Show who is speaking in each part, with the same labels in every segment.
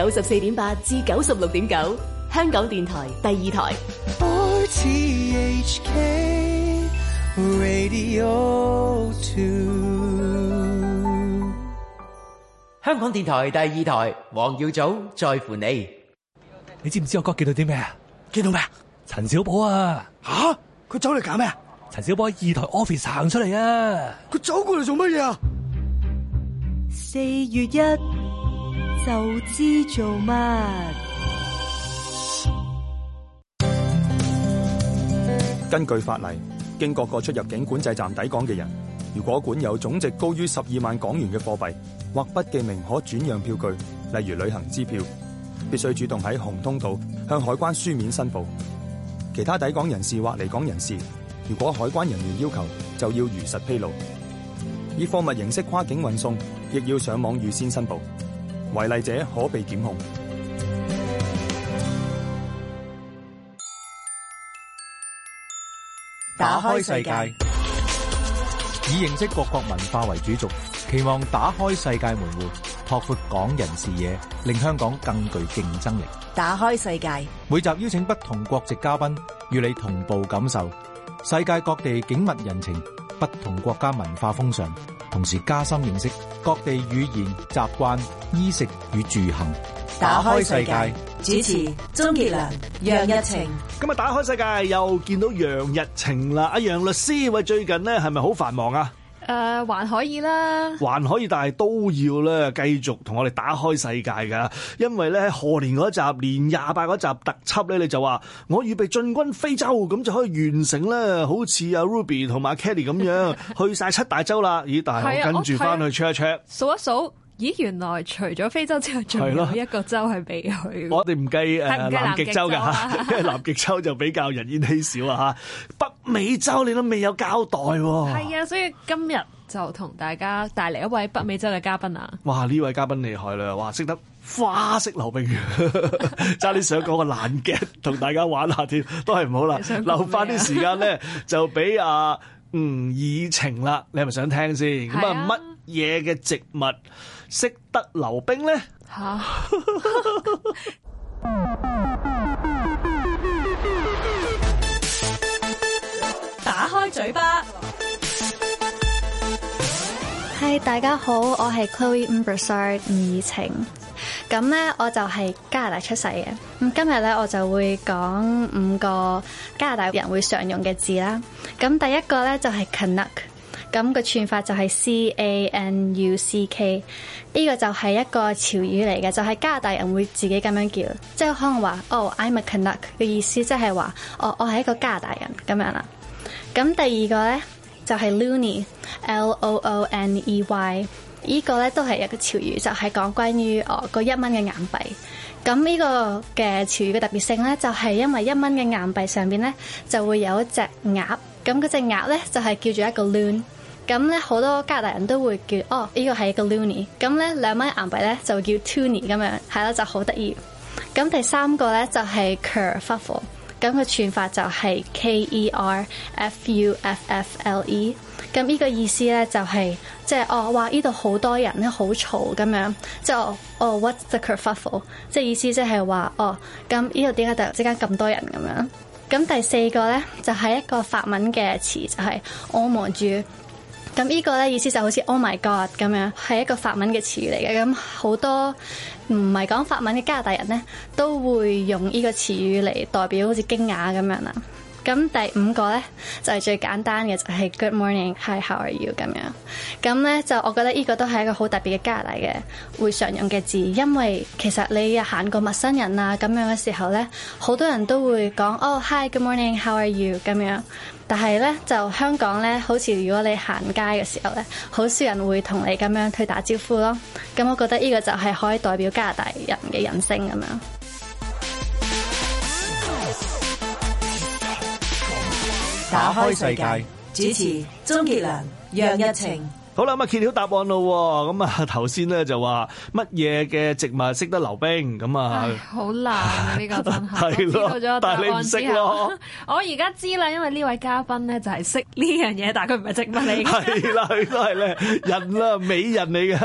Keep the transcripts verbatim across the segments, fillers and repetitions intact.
Speaker 1: 九十四點八至九十六點九，香港電台第二台。
Speaker 2: R T H K Radio two。
Speaker 3: 香港電台第二台，黃耀祖在乎你。
Speaker 4: 你知唔知我哥見到啲咩啊？
Speaker 5: 見到咩啊？
Speaker 4: 陳小寶啊！
Speaker 5: 吓，佢走嚟搞咩啊？
Speaker 4: 陳小寶喺二台 office 行出嚟啊！
Speaker 5: 佢走過嚟做乜嘢啊？
Speaker 6: 四月一就知做乜。
Speaker 7: 根據法例，經各個出入境管制站抵港嘅人，如果管有總值高於十二萬港元嘅貨幣或不記名可轉讓票據，例如旅行支票，必須主動喺紅通道向海關書面申報。其他抵港人士或離港人士，如果海關人員要求，就要如實披露。以貨物形式跨境運送，亦要上網預先申報，違例者可被檢控。
Speaker 8: 打開世界，以認識各國文化為主軸，期望打開世界門戶，拓闊港人視野，令香港更具競爭力。
Speaker 6: 打開世界，
Speaker 8: 每集邀請不同國籍嘉賓，與你同步感受世界各地景物人情、不同國家文化風尚，同時加深認識各地語言、習慣、衣食與住行。
Speaker 6: 打開世界，主持鍾傑良、楊逸晴。
Speaker 5: 今日打開世界又見到楊逸晴啦，阿楊律師，喂，最近咧係咪好繁忙啊？
Speaker 9: 誒、呃，還可以啦，
Speaker 5: 還可以，但係都要咧繼續同我哋打開世界㗎，因為咧賀年嗰集年廿八嗰集特輯咧，你就話我預備進軍非洲，咁就可以完成咧，好似阿 Ruby 同埋阿 Kelly 咁樣去晒七大洲啦。咦，但係我跟住翻去 check 一 check，
Speaker 9: 數一數。咦，原來除咗非洲之外，仲有一個洲係未去。
Speaker 5: 我哋唔計誒南極洲㗎嚇，因為南極洲就比較人煙稀少啊嚇。北美洲你都未有交代喎。
Speaker 9: 係啊，所以今日就同大家帶嚟一位北美洲嘅嘉賓啊！
Speaker 5: 哇，呢位嘉賓厲害啦！哇，識得花式溜冰，差啲想講個爛 gag 同大家玩下添，都係唔好啦。留翻啲時間咧，就俾阿吳以晴啦。你係咪想聽先？咁啊，乜嘢嘅植物識得溜冰咧？嚇！
Speaker 6: 打開嘴巴。
Speaker 10: 係，大家好，我係 Chloe Umbersard 吳以晴。咁咧，我就係加拿大出世嘅。咁今日咧，我就會講五個加拿大人會常用嘅字啦。咁第一個咧就係 Canuck。咁個串法就係 C A N U C K， 呢個就係一個潮語嚟嘅，就係、是、加拿大人會自己咁樣叫，即係可能話哦 I'm a Canuck 嘅意思，即係話哦我係一個加拿大人咁樣啦。咁第二個咧就係、是、Loonie L O O N E Y， 呢個咧都係一個潮語，就係、是、講關於哦個一蚊嘅硬幣。咁呢個嘅潮語嘅特別性咧，就係因為一蚊嘅硬幣上邊咧就會有一隻鴨，咁嗰隻鴨咧就係叫做一個 loon。咁咧好多加拿大人都會叫哦，呢個係一個 loonie。咁咧兩蚊硬幣咧就叫 toonie 咁樣，係啦，就好得意。咁第三個咧就係 kerfuffle， 咁個串法就係 K E R F U F F L E。咁呢個意思咧就係即係哦，哇！呢度好多人咧，好嘈咁樣，即係哦哦 what's the kerfuffle？ 即係意思即係話哦，咁呢度點解突然之間咁多人咁樣？咁第四個咧就係一個法文嘅詞，就係 oh mon Dieu。咁呢個咧意思就好似 Oh my God 咁樣，係一個法文嘅詞語嚟嘅。咁好多唔係講法文嘅加拿大人咧，都會用呢個詞語嚟代表好似驚訝咁樣啦。咁第五個咧就係、是、最簡單嘅，就係、是、Good morning，Hi how are you 咁樣。咁咧就我覺得呢個都係一個好特別嘅加拿大嘅會常用嘅字，因為其實你行過陌生人啊咁樣嘅時候咧，好多人都會講哦 Hi Good morning，How are you 咁樣。但係咧，就香港咧，好似如果你行街嘅時候咧，好少人會同你咁樣去打招呼咯。咁我覺得呢個就係可以代表加拿大人嘅人性咁樣。
Speaker 6: 打開世界，主持鍾傑良、楊逸晴。
Speaker 5: 好啦，咁啊揭曉答案咯。咁啊頭先咧就話乜嘢嘅植物識得溜冰咁啊？
Speaker 9: 好難啊！呢、這個真係
Speaker 5: 係咯，
Speaker 9: 知道咗答案之後，但係你唔識咯。我而家知啦，因為呢位嘉賓咧就係識呢樣嘢，但係佢唔係植物嚟嘅。
Speaker 5: 係啦，佢都係咧人啦，美人嚟噶。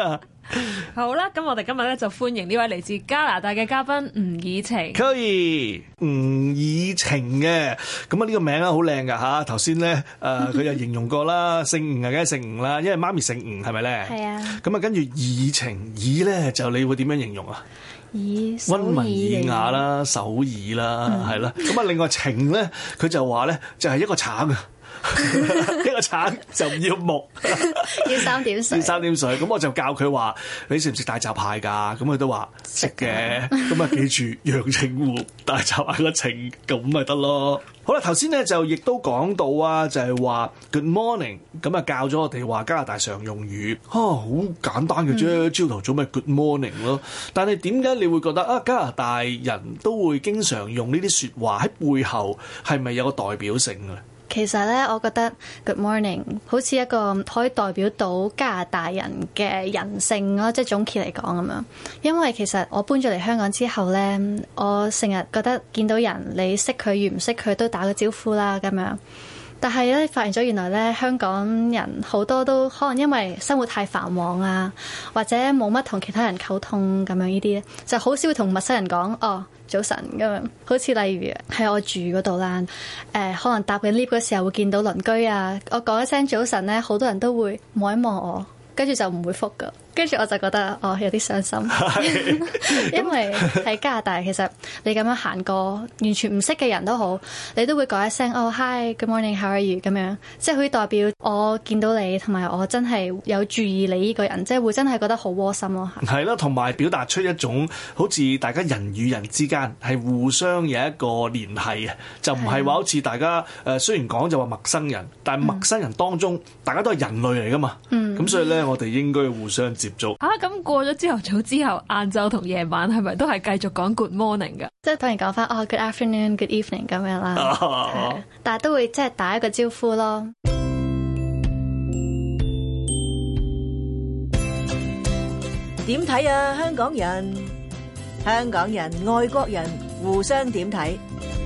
Speaker 9: 好啦，咁我哋今日咧就歡迎呢位嚟自加拿大嘅嘉賓吳以晴。
Speaker 5: 可以，吳以晴嘅，咁啊呢個名啊好靚噶吓，頭先咧誒佢又形容過啦，姓吳啊梗係姓吳啦，因為媽咪姓吳係咪咧？
Speaker 10: 係啊。
Speaker 5: 咁啊跟住以晴，以咧就你會點樣形容啊？
Speaker 10: 以
Speaker 5: 溫文爾雅啦，守耳啦，係啦。咁啊另外晴咧，佢就話咧就係一個橙啊。一個橙就唔要木，
Speaker 10: 要三點水。
Speaker 5: 要三點水，咁我就教佢話：你食唔食大閘蟹㗎？咁佢都話食嘅。咁啊記住陽澄湖大閘蟹個晴，咁咪得咯。好啦，頭先咧就亦都講到啊，就係話 Good morning，咁啊教咗我哋話加拿大常用語，啊好簡單嘅啫，朝頭早咪 Good morning 咯。但係點解你會覺得啊加拿大人都會經常用呢啲説話喺背後係咪有個代表性嘅？
Speaker 10: 其實咧，我覺得 Good morning 好似一個可以代表到加拿大人嘅人性咯，即係總結嚟講咁樣。因為其實我搬咗嚟香港之後咧，我成日覺得見到人，你識佢與唔識佢都打個招呼啦咁樣。但係咧，發現咗原來咧，香港人好多都可能因為生活太繁忙啊，或者冇乜同其他人溝通咁樣呢啲咧，就好少會同陌生人講哦早晨咁樣。好似例如喺我住嗰度啦，誒、呃、可能搭緊 lift 嗰時候會見到鄰居啊，我講一聲早晨咧，好多人都會望一望我，跟住就唔會覆㗎。跟住我就覺得哦有啲傷心，因為喺加拿大其實你咁樣行過完全唔識嘅人都好，你都會講一聲哦 hi good morning how are you 咁樣，即係可以代表我見到你同埋我真係有注意你呢個人，即係會真係覺得好窩心咯。
Speaker 5: 係啦，同埋表達出一種好似大家人與人之間係互相有一個聯繫啊，就唔係話好似大家誒雖然講就話陌生人，但係陌生人當中、嗯、大家都係人類嚟噶嘛，咁、嗯、所以咧我哋應該互相接觸
Speaker 9: 啊。咁過咗朝頭早之後，晏晝同夜晚係咪都係繼續講 good morning 噶？
Speaker 10: 即係當然講翻哦 good afternoon good evening 咁樣啦、啊，但係都會即係打一個招呼咯。
Speaker 6: 點睇啊？香港人、香港人、外國人互相點睇？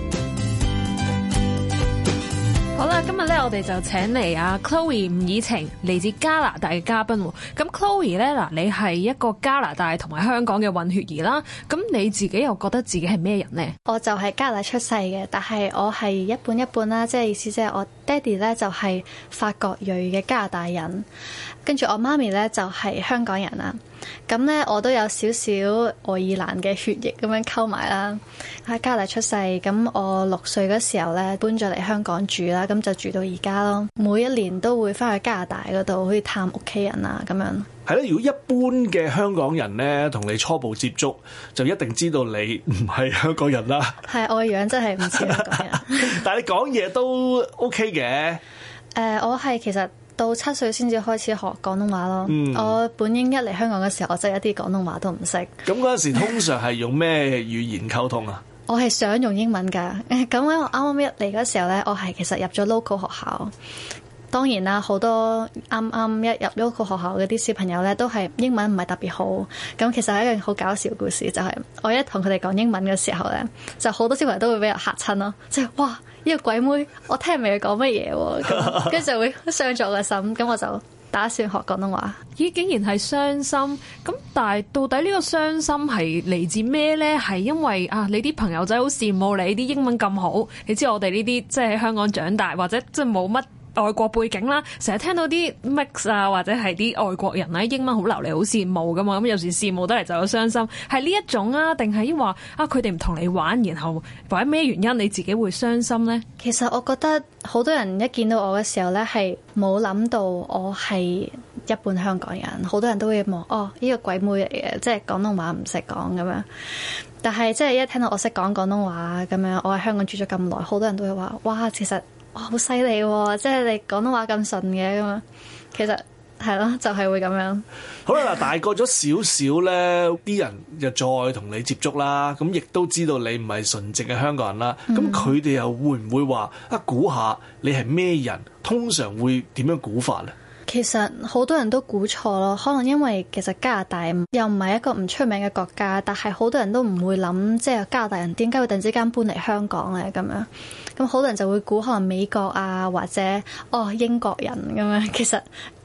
Speaker 9: 好啦，今日咧我哋就請嚟啊 Chloe 吳以晴，嚟自加拿大嘅嘉賓。咁 Chloe 咧嗱，你係一個加拿大同埋香港嘅混血兒啦。咁你自己又覺得自己係咩人呢？
Speaker 10: 我就係加拿大出世嘅，但係我係一半一半啦，即係意思即係我爹哋咧就係法國裔嘅加拿大人，跟住我媽咪咧就係香港人啦。咁咧我都有少少愛爾蘭嘅血液咁樣溝埋啦。喺加拿大出世，咁我六歲嗰時候咧搬咗嚟香港住啦，咁就住到而家咯。每一年都會翻去加拿大嗰度去探屋企人啊，咁樣。
Speaker 5: 係啦，如果一般嘅香港人咧同你初步接觸，就一定知道你唔係香港人啦。係，
Speaker 10: 我個樣真係唔似香港人。
Speaker 5: 但係你講嘢都 OK 嘅。誒、
Speaker 10: 呃，我係其實到七歲先至開始學廣東話咯。嗯、我本應一嚟香港嘅時候，我真係一啲廣東話都唔識。咁
Speaker 5: 嗰陣時通常係用咩語言溝通啊？
Speaker 10: 我係想用英文㗎。咁咧，我啱啱一嚟嗰時候咧，我係其實入咗 local 學校。當然啦，好多啱啱一入 local 學校嗰啲小朋友咧，都係英文唔係特別好。咁其實係一個好搞笑嘅故事，就係、是、我一同佢哋講英文嘅時候咧，就好多小朋友都會俾人嚇親咯。即係哇，呢、這個鬼妹，我聽唔明佢講乜嘢喎，咁跟住就會傷咗我嘅心。咁我就打算學廣東話。
Speaker 9: 咦，竟然係傷心咁？但係到底呢個傷心係嚟自咩呢？係因為啊，你啲朋友仔好羨慕你啲英文咁好。你知我哋呢啲即係喺香港長大，或者即係冇乜外國背景啦，成日聽到啲 mix 啊，或者係啲外國人咧英文好流利，好羨慕噶嘛。咁有時羨慕得嚟就有傷心，係呢一種啊，定係話啊佢哋唔同你玩，然後或者咩原因你自己會傷心呢？
Speaker 10: 其實我覺得好多人一見到我嘅時候咧，係冇諗到我係一半香港人，好多人都會望哦呢個鬼妹嚟嘅，即係廣東話唔識講咁樣。但係即係一聽到我識講廣東話咁樣，我喺香港住咗咁耐，好多人都會話哇，其實哇好犀利喎，即係你廣東話咁順嘅咁樣。其實係咯，就係、是、會咁樣。
Speaker 5: 好啦，嗱，大個咗少少咧，啲人就再同你接觸啦，咁亦都知道你唔係純正嘅香港人啦。咁佢哋又會唔會話啊估下你係咩人？通常會點樣估法咧？
Speaker 10: 其實好多人都估錯咯，可能因為其實加拿大又唔係一個唔出名嘅國家，但係好多人都唔會諗，即係加拿大人點解會突然之間搬嚟香港咧咁樣。咁好多人就會估可能美國啊，或者哦英國人咁樣。其實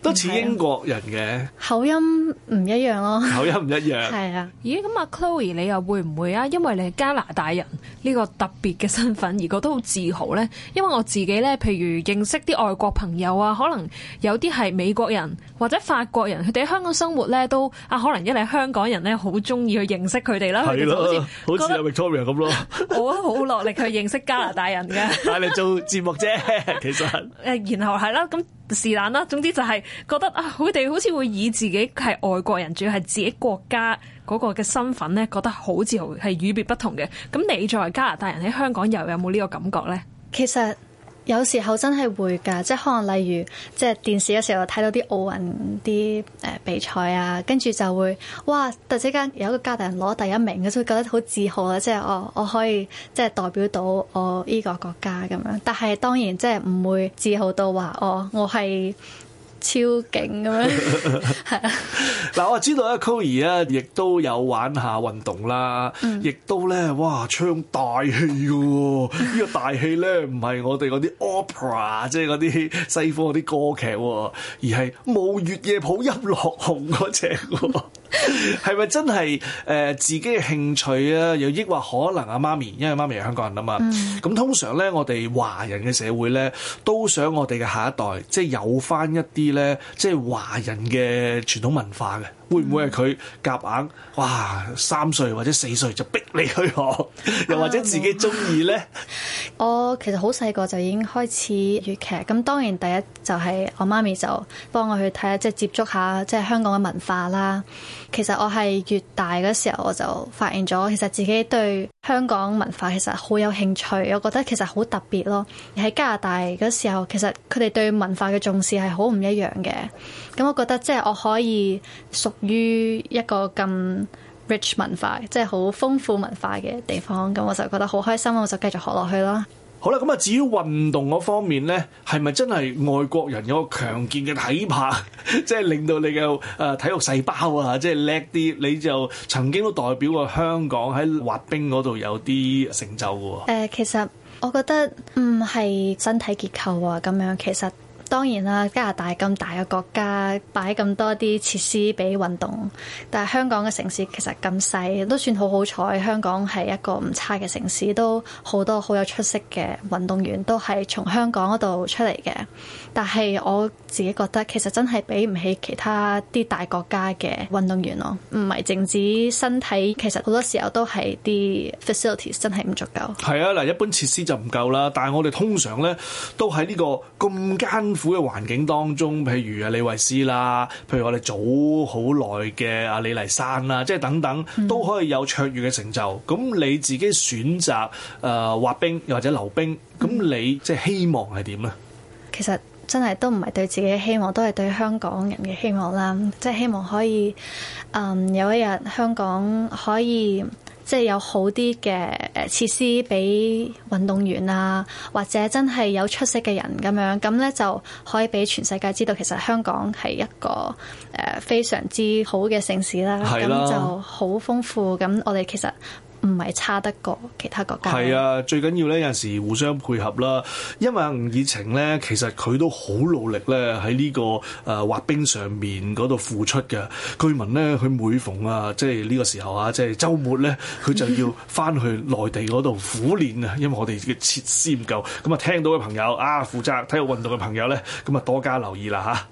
Speaker 5: 都似英國人嘅
Speaker 10: 口音唔一樣咯，
Speaker 5: 口音唔一樣。
Speaker 10: 係啊，
Speaker 9: 咦？咁阿 Chloe 你又會唔會啊？因為你係加拿大人呢個特別嘅身份而覺得好自豪呢？因為我自己呢，譬如認識啲外國朋友啊，可能有啲係美國人或者法國人，佢哋喺香港生活呢，都啊，可能因為香港人呢，好中意去認識佢哋啦。
Speaker 5: 係咯，好似阿 Victoria 咁咯。
Speaker 9: 我好落力去認識加拿大人嘅，
Speaker 5: 但係你做節目啫，其實
Speaker 9: 誒，然後係啦，咁是但啦。總之就係覺得啊，佢哋好似會以自己係外國人，仲要係自己國家嗰個嘅身份咧，覺得好自豪，係與別不同嘅。咁你作為加拿大人喺香港又有冇呢個感覺咧？
Speaker 10: 其實有時候真係會㗎，即係可能例如即係電視嘅時候睇到啲奧運啲誒比賽啊，跟住就會哇！突然之間有一個加拿大人攞第一名，就會覺得好自豪啦！即係我我可以即係代表到我呢個國家咁樣，但係當然即係唔會自豪到話哦，我係超勁咁樣，係啊！
Speaker 5: 嗱，我知道咧，Chloe 啊，亦都有玩下運動啦，亦、嗯、都咧，哇，唱大戲嘅喎！呢、呢個大戲咧，唔係我哋嗰啲 opera， 即係嗰啲西方嗰啲歌劇，而係舞月夜抱音樂紅嗰隻喎。係咪真係誒、呃、自己嘅興趣啊？又抑或可能阿媽咪，因為媽咪係香港人啊嘛。咁、嗯、通常咧，我哋華人嘅社會咧，都想我哋嘅下一代即係有翻一啲咧，即係華人嘅傳統文化嘅。會唔會係佢夾硬？哇！三歲或者四歲就逼你去學，又或者自己中意咧？
Speaker 10: 我其實好細個就已經開始粵劇，咁當然第一就係我媽咪就幫我去睇下，即係接觸下即係香港嘅文化啦。其實我係越大嗰時候，我就發現咗，其實自己對香港文化其實好有興趣，我覺得其實好特別咯。而喺加拿大嗰時候，其實佢哋對文化嘅重視係好唔一樣嘅。咁我覺得即係我可以屬於一個咁 rich 文化，即係好豐富文化嘅地方，咁我就覺得好開心，我就繼續學落去啦。
Speaker 5: 好啦，咁啊，至於運動嗰方面咧，係咪真係外國人有個強健嘅體魄，即係令到你嘅誒、呃、體育細胞啊，即係叻啲？你就曾經都代表過香港喺滑冰嗰度有啲成就嘅喎。誒、
Speaker 10: 呃，其實我覺得唔係身體結構啊，咁樣其實。當然啦，加拿大咁大嘅國家，擺咁多啲設施俾運動，但係香港嘅城市其實咁細，都算好好彩。香港係一個唔差嘅城市，都好多好有出色嘅運動員都係從香港嗰度出嚟嘅。但係我自己覺得其實真係比唔起其他啲大國家嘅運動員咯，唔係淨止身體，其實好多時候都係啲 facilities 真係唔足夠。係
Speaker 5: 啊，嗱，一般設施就唔夠啦，但係我哋通常咧都喺呢個咁艱苦嘅環境當中，譬如啊李慧詩啦，譬如我哋早好耐嘅阿李麗珊啦，即係等等都可以有卓越嘅成就。咁、嗯、你自己選擇誒、呃、滑冰又或者溜冰，咁你即係希望係點咧？其實真係都唔係對自己嘅希望，都係對香港人嘅希望啦。即係希望可以，嗯，有一日香港可以即係有好啲嘅誒設施俾運動員啊，或者真係有出色嘅人咁樣，咁咧就可以俾全世界知道，其實香港係一個誒非常之好嘅城市啦。咁就好豐富。咁我哋其實唔係差得過其他國家。係啊，最緊要咧有陣時互相配合啦。因為吳以晴咧，其實佢都好努力咧喺呢個誒滑冰上面嗰度付出嘅。據聞咧，佢每逢啊，即係呢個時候啊，即係週末咧，佢就要翻去內地嗰度苦練啊。因為我哋嘅設施唔夠。咁啊，聽到嘅朋友啊，負責體育運動嘅朋友咧，咁啊多加留意啦嚇。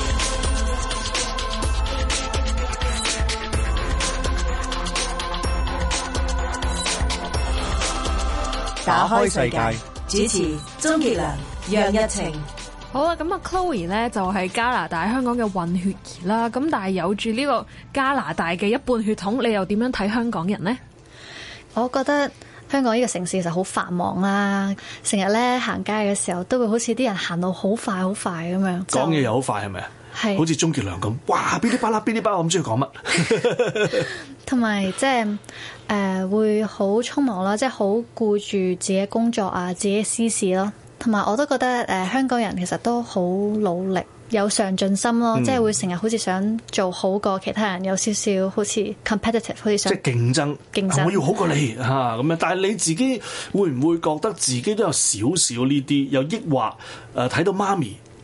Speaker 1: 打開世界，主持鍾傑良、楊逸晴。
Speaker 9: 好啦，咁啊 Chloe 咧就係加拿大香港嘅混血兒啦，咁但係有住呢個加拿大嘅一半血統，你又點樣睇香港人呢？
Speaker 10: 我覺得香港呢個城市其實好繁忙啦，成日咧行街嘅時候都會好似啲人行路好快好快咁樣，講嘢又好快係咪啊？係，好似鍾傑良咁，哇！噼哩啪啦，噼哩啪啦，我唔知佢講乜。同埋即係誒會好匆忙啦，即係好顧住自己工作啊，自己私事咯。同埋我都覺得誒、呃、香港人其實都好努力，有上進心咯，嗯、即係會成日好似想做好過其他人，有少少好似 competitive， 好似想即係競爭，競爭、啊、我要好過你嚇咁樣。但係你自己會唔會覺得自己都有少少呢啲？又抑或誒睇到媽咪？誒、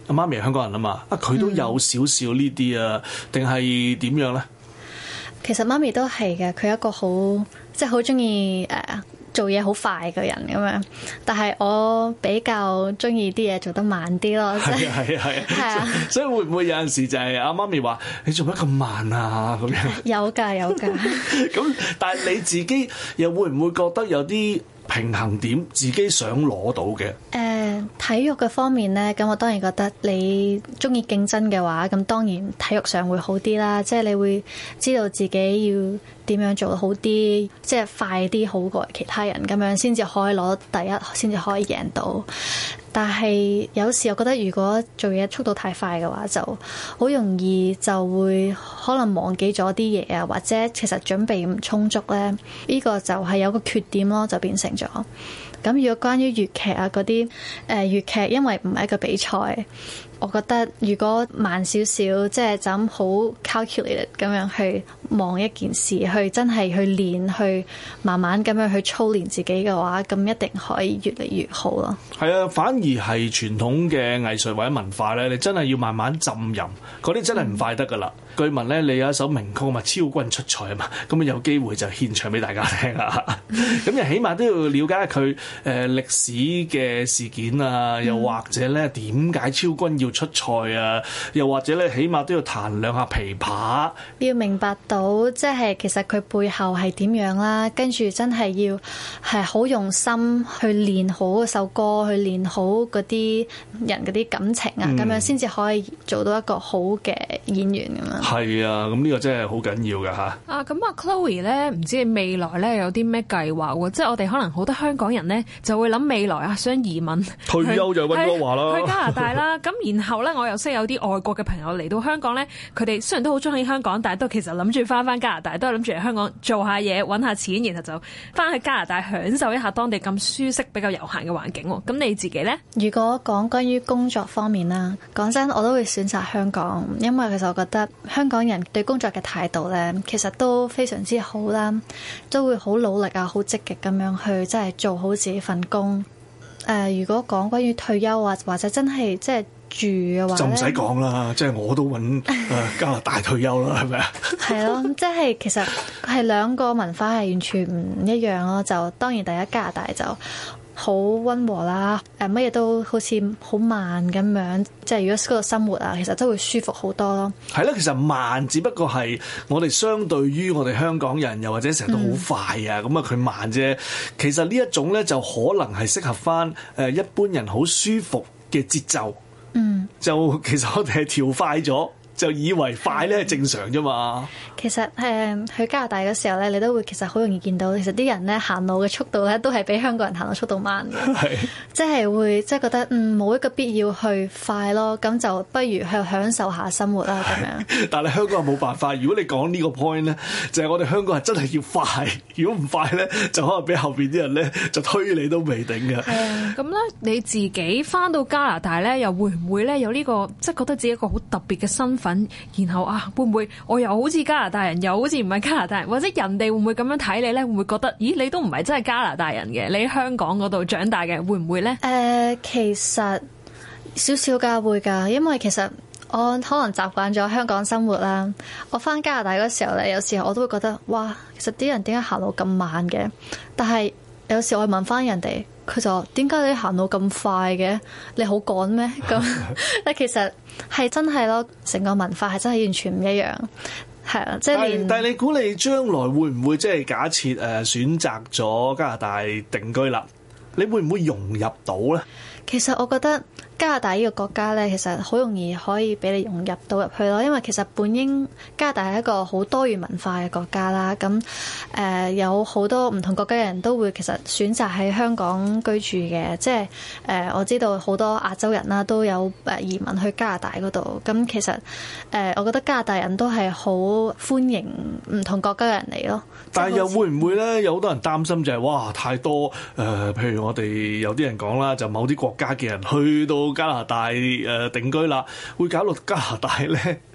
Speaker 5: 阿媽咪係香港人啊嘛，啊佢都有少少呢啲啊，定係點樣咧？
Speaker 10: 其實媽咪都係嘅，佢係一個好即係好中意誒做嘢好快嘅人咁樣，但係我比較中意啲嘢做得慢啲咯。
Speaker 5: 係啊係啊係啊，係啊，所以會唔會有陣時就係阿媽咪話你做乜咁慢啊咁樣？
Speaker 10: 有㗎有㗎。
Speaker 5: 咁但係你自己又會唔會覺得有啲平衡點自己想攞到嘅？
Speaker 10: 誒、呃、體育嘅方面咧，咁我當然覺得你中意競爭嘅話，咁當然體育上會好啲啦。即係你會知道自己要點樣做得好啲，即係快啲好過其他人咁樣，先至可以攞第一，先至可以贏到。但係有時我覺得，如果做嘢速度太快嘅話，就好容易就會可能忘記咗啲嘢啊，或者其實準備唔充足咧，呢個就係有個缺點咯，就變成咗。咁如果關於粵劇啊嗰啲，誒粵劇因為唔係一個比賽，我覺得如果慢少少，即係就咁好 calculated 咁樣去望一件事，去真係去練，去慢慢咁樣去操練自己嘅話，咁一定可以越嚟越好咯。
Speaker 5: 係啊，反而係傳統嘅藝術或者文化咧，你真係要慢慢浸淫，嗰啲真係唔快得噶啦。嗯、據聞咧，你有一首名曲嘛，《超君出塞》啊嘛，咁啊有機會就獻唱俾大家聽啊。咁又起碼都要了解佢誒歷史嘅事件啊，又或者咧點解超君要出塞啊？又或者咧，起碼都要彈兩下琵琶，
Speaker 10: 要明白到即係其實佢背後係點樣啦，跟住真係要係好用心去練好嗰首歌，去練好嗰啲人嗰啲感情啊，咁、嗯、樣先至可以做到一個好嘅演員咁樣。
Speaker 5: 係啊，咁呢個真係好緊要㗎吓。
Speaker 9: 啊，咁啊 Chloe 咧，唔知你未來咧有啲咩計劃喎？即係我哋可能好多香港人咧就會諗未來啊，想移民
Speaker 5: 退休就溫哥華啦，
Speaker 9: 去加拿大啦。咁然後咧，我又識有啲外國嘅朋友嚟到香港咧，佢哋雖然都好中意香港，但係都其實諗住翻翻加拿大，都係諗住嚟香港做下嘢，揾下錢，然後就翻去加拿大享受一下當地咁舒適、比較悠閒嘅環境。咁你自己咧？
Speaker 10: 如果講關於工作方面啦，講真，我都會選擇香港，因為其實我覺得香港人對工作嘅態度咧，其實都非常之好啦，都會好努力啊，好積極咁樣去，即係做好自己份工。誒、呃，如果講關於退休啊，或者真係即係住嘅話，就唔使講啦，即係我都揾誒加拿大退休啦，係咪啊？係咯，即係其實係兩個文化係完全唔一樣咯。就當然第一加拿大就好溫和啦，誒乜嘢都好似好慢咁樣，即係如果嗰度生活啊，其實都會舒服好多咯。係咯，其實慢只不過係我哋相對於我哋香港人，又或者成日都好快啊，咁啊佢慢啫。其實呢一種咧就可能係適合翻誒一般人好舒服嘅節奏。嗯，就其實我哋係調快咗。就以為快咧係正常啫嘛。其實誒去加拿大嘅時候咧，你都會其實好容易見到，其實啲人咧行路嘅速度咧都係比香港人行路速度慢嘅。係，即係會即係覺得嗯冇一個必要去快咯，咁就不如去享受下生活啦咁樣。但係香港人冇辦法，如果你講呢個 point 咧，就係我哋香港人真係要快，如果唔快咧，就可能俾後邊啲人咧就推你都未定嘅。係啊，咁咧你自己翻到加拿大咧，又會唔會咧有呢個即係覺得自己一個好特別嘅身份？然後啊，會唔會我又好似加拿大人，又好似唔係加拿大人，或者人哋會唔會咁樣睇你咧？會唔會覺得，咦，你都唔係真係加拿大人嘅，你喺香港嗰度長大嘅，會唔會咧？誒、呃，其實少少㗎，會㗎，因為其實我可能習慣咗香港生活啦。我翻加拿大嗰時候咧，有時候我都會覺得，哇，其實啲人點解行路咁慢嘅？但係有時我問翻人哋，佢就話：點解你行路咁快嘅？你好趕咩？咁但其實係真係咯，成個文化係真係完全唔一樣，係啊，即係連。但係你估你將來會唔會即係假設誒選擇咗加拿大定居啦？你會唔會融入到咧？其實我覺得加拿大呢個國家咧，其實好容易可以俾你融入到入去咯，因為其實本應加拿大係一個好多元文化嘅國家啦。咁誒、呃、有好多唔同國家嘅人都會其實選擇喺香港居住嘅，即係誒、呃、我知道好多亞洲人啦都有誒移民去加拿大嗰度。咁其實誒、呃、我覺得加拿大人都係好歡迎唔同國家嘅人嚟咯。但係又會唔會咧？有好多人擔心就係、是、哇太多誒、呃，譬如我哋有啲人講啦，就某啲國家嘅人去到加拿大誒定居啦，會搞到加拿大咧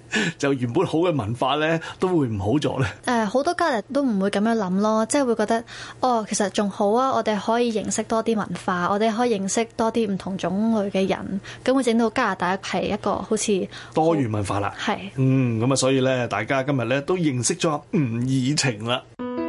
Speaker 5: 就原本好嘅文化咧都會唔好咗咧？
Speaker 10: 誒好多加拿大都唔會咁樣諗咯，即係會覺得哦，其實仲好啊，我哋可以認識多啲文化，我哋可以認識多啲唔同種類嘅人，咁會整到加拿大係一個好似
Speaker 5: 多元文化啦。
Speaker 10: 係，
Speaker 5: 嗯，咁啊，所以咧，大家今日咧都認識咗吳以晴啦。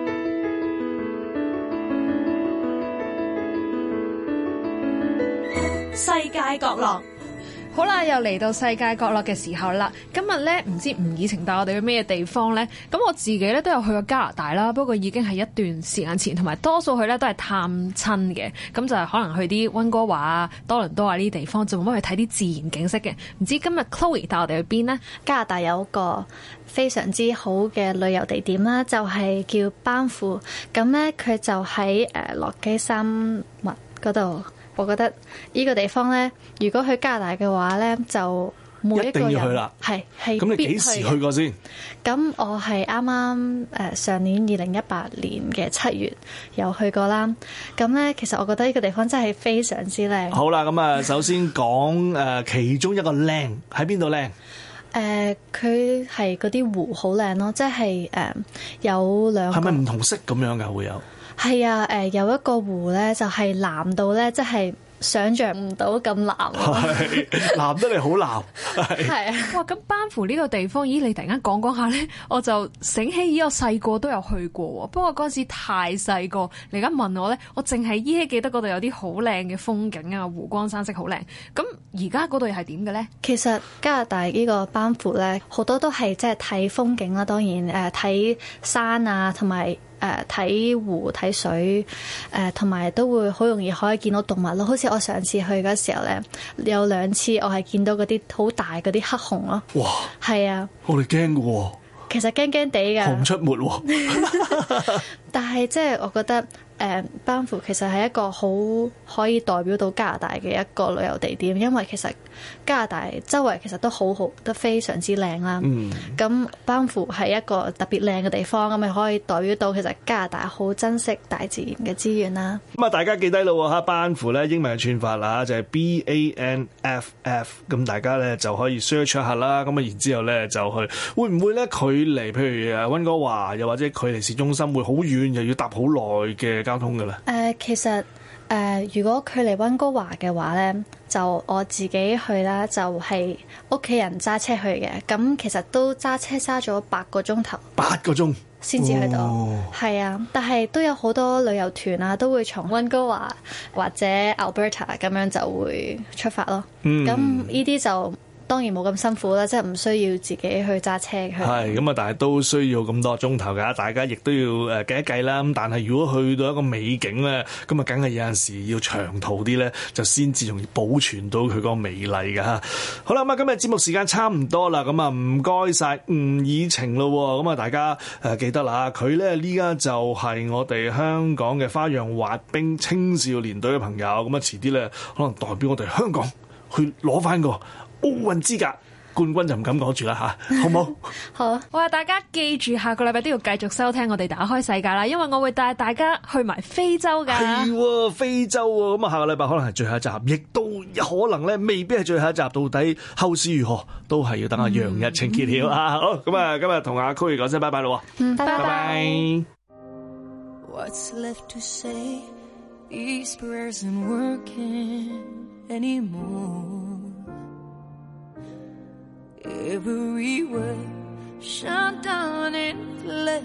Speaker 6: 世界角落。
Speaker 9: 好啦，又嚟到世界角落嘅時候啦。今日咧唔知吳以晴帶我哋去咩地方咧？咁我自己咧都有去過加拿大啦，不過已經係一段時間前，同埋多數去咧都係探親嘅。咁就係可能去啲溫哥華啊、多倫多啊呢啲地方，就冇乜去睇啲自然景色嘅。唔知今日 Chloe 帶我哋去邊呢？
Speaker 10: 加拿大有個非常之好嘅旅遊地點啦，就係叫班夫。咁咧佢就喺誒落基山脈嗰度。我覺得呢個地方咧，如果去加拿大嘅話咧，就每一個人
Speaker 5: 一定要去啦。
Speaker 10: 係係。
Speaker 5: 咁你幾時去過先？
Speaker 10: 咁我係啱啱誒上年二零一八年嘅七月有去過啦。咁咧，其實我覺得呢個地方真係非常之靚。
Speaker 5: 好啦，咁啊，首先講誒其中一個靚喺邊度靚？
Speaker 10: 誒，佢係嗰啲湖好靚咯，即係誒有兩個。係咪唔
Speaker 5: 同色咁樣㗎？會有？
Speaker 10: 係啊，誒有一個湖咧，就係藍到咧，即係想像唔到咁藍。
Speaker 5: 係藍得嚟好藍。
Speaker 10: 係啊，
Speaker 9: 哇！咁班夫呢個地方，咦？你突然間講講下咧，我就醒起，咦？我細個都有去過喎，不過嗰陣時太細個。你而家問我咧，我淨係依稀記得嗰度有啲好靚嘅風景啊，湖光山色好靚。咁而家嗰度又係點嘅咧？
Speaker 10: 其實加拿大呢個班夫咧，好多都係即係睇風景啦，當然誒睇山啊，同埋。誒睇、呃、湖睇水，誒同埋都會好容易可以見到動物咯。好似我上次去嗰時候咧，有兩次我係見到嗰啲好大嗰啲黑熊咯。
Speaker 5: 哇！
Speaker 10: 係啊，
Speaker 5: 我哋驚嘅喎。
Speaker 10: 其實驚驚地㗎。熊
Speaker 5: 出沒喎。
Speaker 10: 但係即係我覺得。誒班夫其實係一個好可以代表到加拿大嘅一個旅遊地點，因為其實加拿大周圍其實都好好，都非常之靚啦。咁、嗯、班夫係一個特別靚嘅地方，咁咪可以代表到其實加拿大好珍惜大自然嘅資源啦。
Speaker 5: 咁啊，大家記低咯嚇，班夫咧英文嘅串法啦，就係 B A N F F， 咁大家咧就可以 search 一下啦。咁啊，然之後咧就去，會唔會咧距離譬如誒溫哥華又或者距離市中心會好遠，又要搭好耐嘅交通㗎啦？
Speaker 10: 誒、呃，其實誒、呃，如果距離溫哥華嘅話咧，就我自己去啦，就係屋企人揸車去嘅。咁其實都揸車揸咗八個鐘頭，
Speaker 5: 八個鐘
Speaker 10: 先至去到。係、哦、啊，但係都有好多旅遊團啊，都會從溫哥華或者 Alberta 咁樣就會出發咯。咁呢啲就當然冇咁辛苦啦，即係唔需要自己去揸車去。係
Speaker 5: 咁啊，但係都需要咁多鐘頭㗎，大家亦都要誒計一計啦。咁但係如果去到一個美景咧，咁啊，梗係有陣時要長途啲咧，就先至容易保存到佢個美麗㗎嚇。好啦，咁啊，今日節目時間差唔多啦，咁啊，唔該晒吳以晴咯。咁啊，大家誒記得啦，佢咧呢家就係我哋香港嘅花樣滑冰青少年隊嘅朋友。咁啊，遲啲咧可能代表我哋香港去攞翻個奧運資格冠軍，就唔敢講住啦吓，好唔好？
Speaker 10: 好。
Speaker 9: 哇！大家記住下個禮拜都要繼續收聽我哋打開世界啦，因為我會帶大家去埋非洲㗎。
Speaker 5: 係喎，非洲喎，咁啊下個禮拜可能係最後一集，亦都有可能咧未必係最後一集。到底後事如何，都係要等阿楊逸晴揭曉啊！好，咁啊今日同阿 Chloe 講聲拜拜咯。
Speaker 10: 嗯，拜拜。
Speaker 5: 拜拜。
Speaker 2: What's left to say? These prayers aren't working anymore. Every word shut down in flames.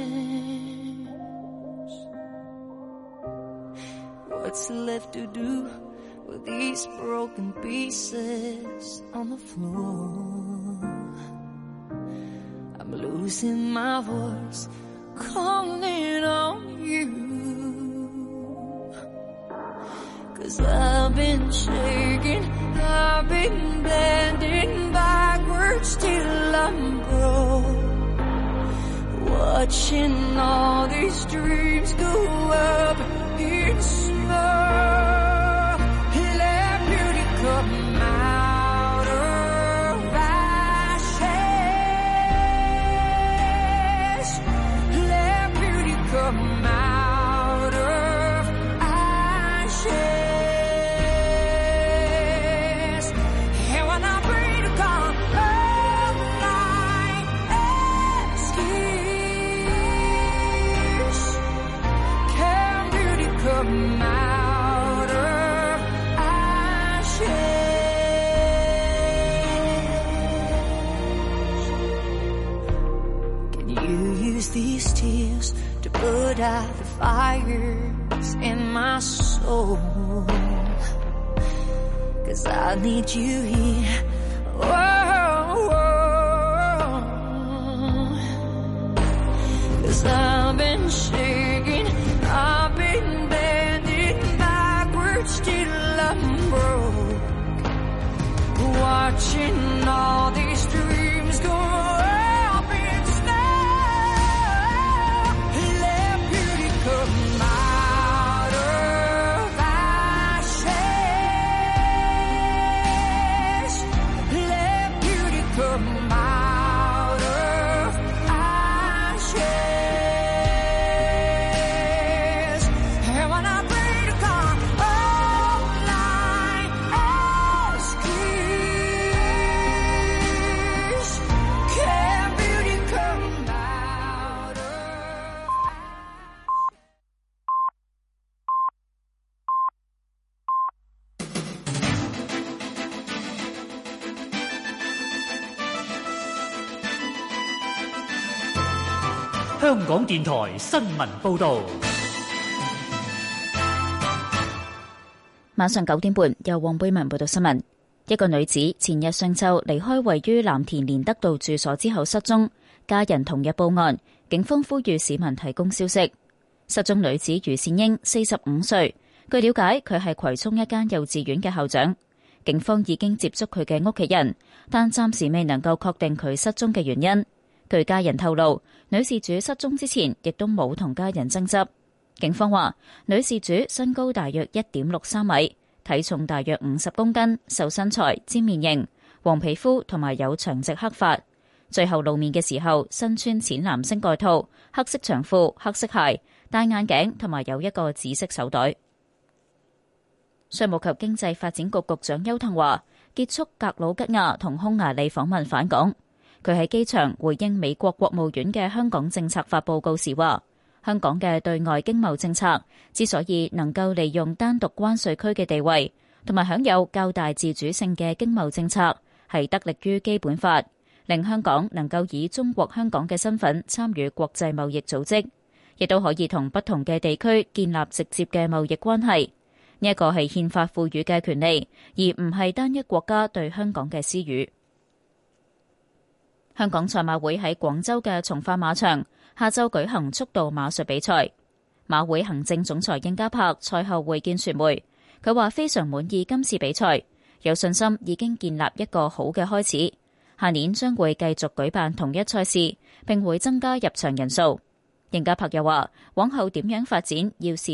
Speaker 2: What's left to do with these broken pieces on the floor? I'm losing my voice, calling on you. 'Cause I've been shaking, I've been bending backwards till I'm broke, watching all these dreams go up in smoke. Let beauty come out of ashes. Let beauty come out of ashes. And when I pray to God, oh God, come out of ashes. Can you use these tears to put out the fires in my soul? 'Cause I need you here. Whoa, whoa. 'Cause I've been shaking, I've been bending backwards till I'm broke, watching all these dreams go up in smoke. Let beauty come out of ashes. Let beauty come out of ashes. And when I pray to God, all I ask is, can beauty come out of
Speaker 11: 香港電台新聞報導。
Speaker 12: 晚上九點半，由黃貝文報道新聞。一個女子前日上晝離開位於藍田連德道住所之後失蹤，家人同日報案，警方呼籲市民提供消息。失蹤女子余善英，四十五歲。據了解，佢係葵涌一間幼稚園嘅校長。警方已經接觸佢嘅屋企人，但暫時未能夠確定佢失蹤嘅原因。據家人透露，女事主失蹤之前亦都冇同家人爭執。警方話，女事主身高大約一點六三米，體重大約五十公斤，瘦身材，尖面型，黃皮膚同埋有長直黑髮。最後露面嘅時候，身穿淺藍色外套、黑色長褲、黑色鞋，戴眼鏡同埋有一個紫色手袋。商務及經濟發展局局長邱騰華結束格魯吉亞同匈牙利訪問返港。佢喺機場回應美國國務院嘅香港政策法報告時話，香港嘅對外經貿政策之所以能夠利用單獨關稅區嘅地位，同埋享有較大自主性嘅經貿政策，係得力於基本法，令香港能夠以中國香港嘅身份參與國際貿易組織，亦都可以同不同嘅地區建立直接嘅貿易關係。呢一個係憲法賦予嘅權利，而唔係單一國家對香港嘅私語。香港賽馬會喺廣州嘅從化馬場下晝舉行速度馬術比賽。馬會行政總裁應家柏賽後會見傳媒，佢話非常滿意今次比賽，有信心已經建立一個好嘅開始。下年將會繼續舉辦同一賽事，並會增加入場人數。應家柏又話，往後點樣發展要視